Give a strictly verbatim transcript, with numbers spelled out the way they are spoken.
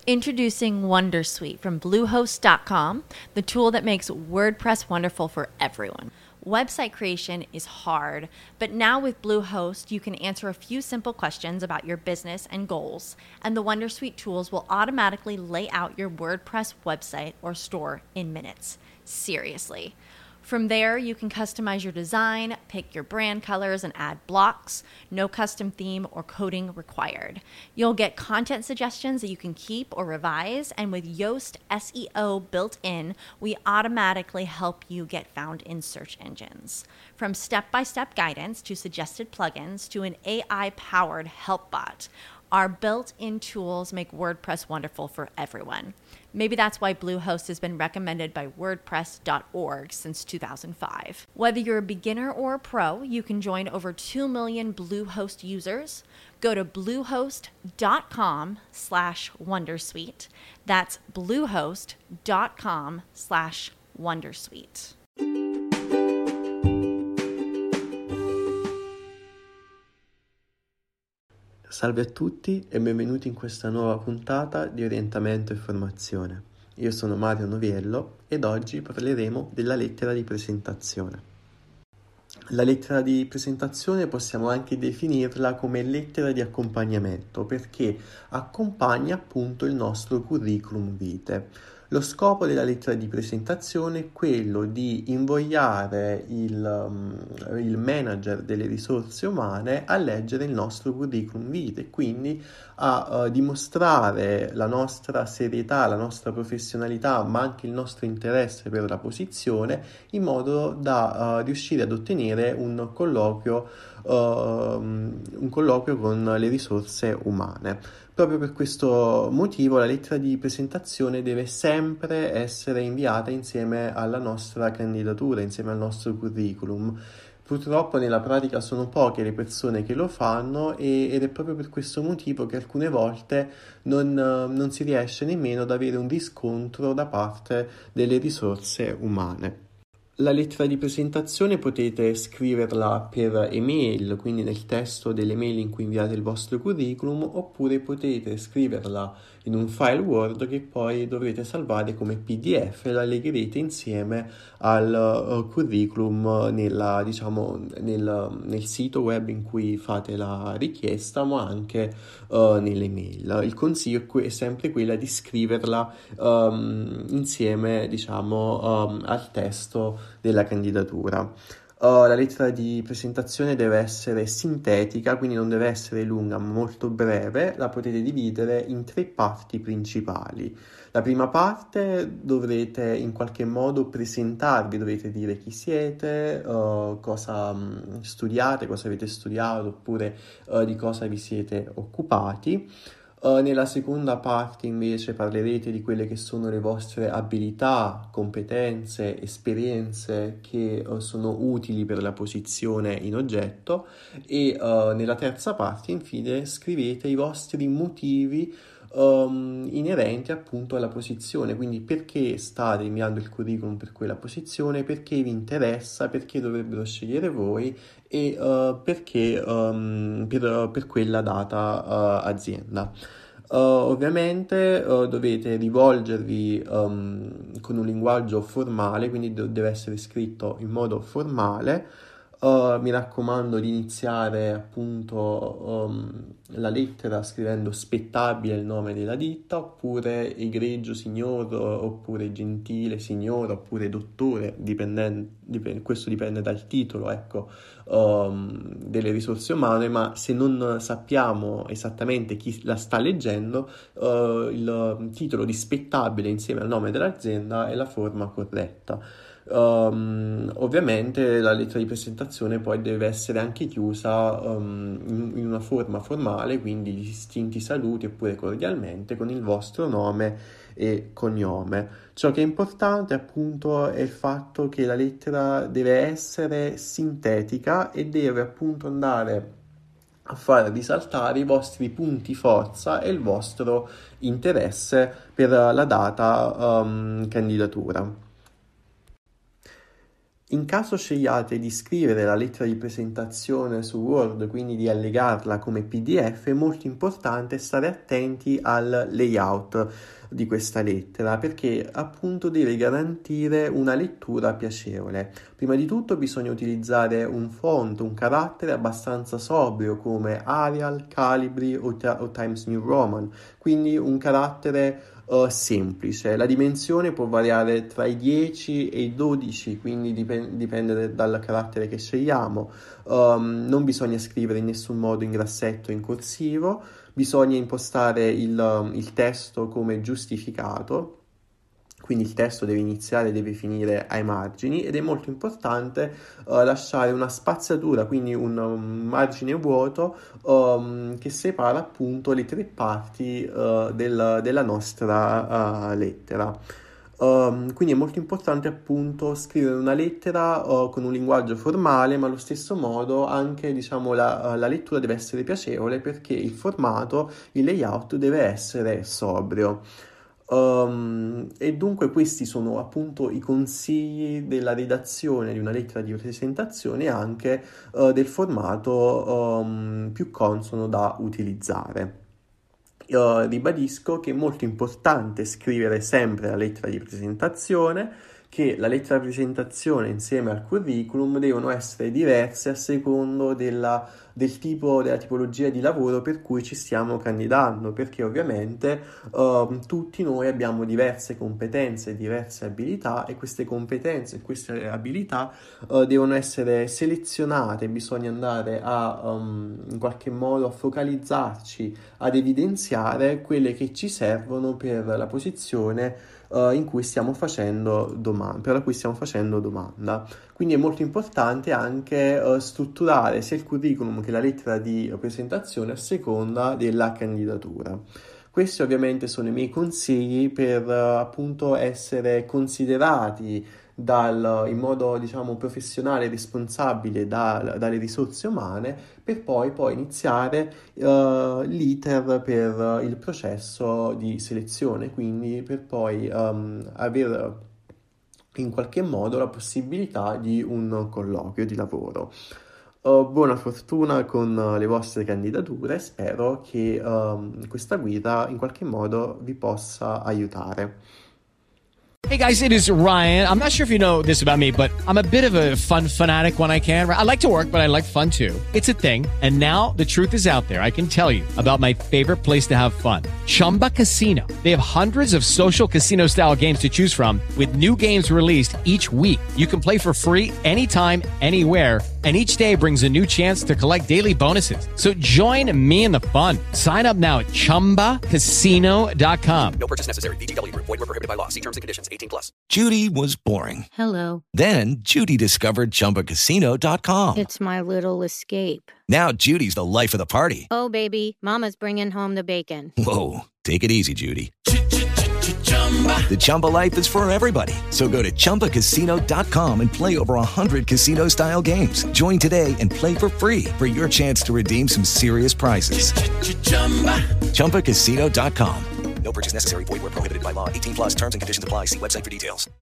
Introducing Wondersuite from Bluehost dot com, the tool that makes WordPress wonderful for everyone. Website creation is hard, but now with Bluehost, you can answer a few simple questions about your business and goals, and the Wondersuite tools will automatically lay out your WordPress website or store in minutes. Seriously. From there, you can customize your design, pick your brand colors, and add blocks. No custom theme or coding required. You'll get content suggestions that you can keep or revise, and with Yoast S E O built in, we automatically help you get found in search engines. From step-by-step guidance to suggested plugins to an A I-powered help bot, our built-in tools make WordPress wonderful for everyone. Maybe that's why Bluehost has been recommended by WordPress dot org since two thousand five. Whether you're a beginner or a pro, you can join over two million Bluehost users. Go to bluehost dot com slash wondersuite. That's bluehost dot com slash wondersuite. Salve a tutti e benvenuti in questa nuova puntata di Orientamento e Formazione. Io sono Mario Noviello ed oggi parleremo della lettera di presentazione. La lettera di presentazione possiamo anche definirla come lettera di accompagnamento perché accompagna appunto il nostro curriculum vitae. Lo scopo della lettera di presentazione è quello di invogliare il, um, il manager delle risorse umane a leggere il nostro curriculum vitae e quindi a uh, dimostrare la nostra serietà, la nostra professionalità, ma anche il nostro interesse per la posizione in modo da uh, riuscire ad ottenere un colloquio, uh, un colloquio con le risorse umane. Proprio per questo motivo la lettera di presentazione deve sempre essere inviata insieme alla nostra candidatura, insieme al nostro curriculum. Purtroppo nella pratica sono poche le persone che lo fanno e, ed è proprio per questo motivo che alcune volte non, non si riesce nemmeno ad avere un riscontro da parte delle risorse umane. La lettera di presentazione potete scriverla per email, quindi nel testo delle mail in cui inviate il vostro curriculum, oppure potete scriverla in un file Word che poi dovrete salvare come P D F e la legherete insieme al uh, curriculum nella, diciamo, nel, nel sito web in cui fate la richiesta, ma anche uh, nelle mail. Il consiglio è, que- è sempre quella di scriverla um, insieme, diciamo, um, al testo della candidatura. Uh, la lettera di presentazione deve essere sintetica, quindi non deve essere lunga, ma molto breve. La potete dividere in tre parti principali. La prima parte dovrete in qualche modo presentarvi, dovete dire chi siete, uh, cosa um, studiate, cosa avete studiato, oppure uh, di cosa vi siete occupati. Uh, nella seconda parte invece parlerete di quelle che sono le vostre abilità, competenze, esperienze che uh, sono utili per la posizione in oggetto e uh, nella terza parte infine scrivete i vostri motivi um, inerenti appunto alla posizione, quindi perché state inviando il curriculum per quella posizione, perché vi interessa, perché dovrebbero scegliere voi e uh, perché um, per, per quella data uh, azienda. Uh, ovviamente uh, dovete rivolgervi um, con un linguaggio formale, quindi do- deve essere scritto in modo formale. Uh, mi raccomando di iniziare appunto um, la lettera scrivendo spettabile il nome della ditta, oppure egregio signor, oppure gentile signor, oppure dottore, dipendente, dipende, questo dipende dal titolo, ecco, um, delle risorse umane, ma se non sappiamo esattamente chi la sta leggendo, uh, il titolo di spettabile insieme al nome dell'azienda è la forma corretta. Um, ovviamente la lettera di presentazione poi deve essere anche chiusa um, in, in una forma formale, quindi distinti saluti oppure cordialmente con il vostro nome e cognome. Ciò che è importante appunto è il fatto che la lettera deve essere sintetica e deve appunto andare a far risaltare i vostri punti forza e il vostro interesse per la data um, candidatura. In caso scegliate di scrivere la lettera di presentazione su Word, quindi di allegarla come P D F, è molto importante stare attenti al layout di questa lettera, perché appunto deve garantire una lettura piacevole. Prima di tutto bisogna utilizzare un font, un carattere abbastanza sobrio come Arial, Calibri o, o Times New Roman, quindi un carattere Uh, semplice. La dimensione può variare tra i dieci e i dodici, quindi dipende, dipende dal carattere che scegliamo. Um, non bisogna scrivere in nessun modo in grassetto o in corsivo, bisogna impostare il, il testo come giustificato. Quindi il testo deve iniziare e deve finire ai margini, ed è molto importante uh, lasciare una spaziatura, quindi un, un margine vuoto um, che separa appunto le tre parti uh, del, della nostra uh, lettera. Um, quindi è molto importante appunto scrivere una lettera uh, con un linguaggio formale, ma allo stesso modo anche, diciamo, la, la lettura deve essere piacevole, perché il formato, il layout deve essere sobrio. Um, e dunque questi sono appunto i consigli della redazione di una lettera di presentazione, e anche uh, del formato um, più consono da utilizzare. Uh, ribadisco che è molto importante scrivere sempre la lettera di presentazione, che la lettera di presentazione insieme al curriculum devono essere diverse a secondo della, del tipo, della tipologia di lavoro per cui ci stiamo candidando, perché ovviamente uh, tutti noi abbiamo diverse competenze, diverse abilità, e queste competenze e queste abilità uh, devono essere selezionate. Bisogna andare a um, in qualche modo a focalizzarci, ad evidenziare quelle che ci servono per la posizione Uh, in cui stiamo facendo domanda, per la cui stiamo facendo domanda. Quindi è molto importante anche uh, strutturare sia il curriculum che la lettera di presentazione a seconda della candidatura. Questi ovviamente sono i miei consigli per uh, appunto essere considerati dal, in modo, diciamo, professionale e responsabile da, dalle risorse umane, per poi, poi iniziare uh, l'iter per il processo di selezione, quindi per poi um, avere in qualche modo la possibilità di un colloquio di lavoro. Uh, buona fortuna con uh, le vostre candidature, spero che um, questa guida in qualche modo vi possa aiutare. Hey guys, it is Ryan. I'm not sure if you know this about me, but I'm a bit of a fun fanatic when I can. I like to work, but I like fun too. It's a thing. And now the truth is out there. I can tell you about my favorite place to have fun. Chumba Casino. They have hundreds of social casino style games to choose from, with new games released each week. You can play for free anytime, anywhere. And each day brings a new chance to collect daily bonuses. So join me in the fun. Sign up now at chumba casino dot com. No purchase necessary. V G W. Void where prohibited by law. See terms and conditions. eighteen plus. Judy was boring. Hello. Then Judy discovered chumba casino dot com. It's my little escape. Now Judy's the life of the party. Oh, baby, mama's bringing home the bacon. Whoa, take it easy, Judy. The Chumba life is for everybody. So go to chumba casino dot com and play over one hundred casino-style games. Join today and play for free for your chance to redeem some serious prizes. chumba casino dot com. No purchase necessary. Void where prohibited by law. eighteen plus terms and conditions apply. See website for details.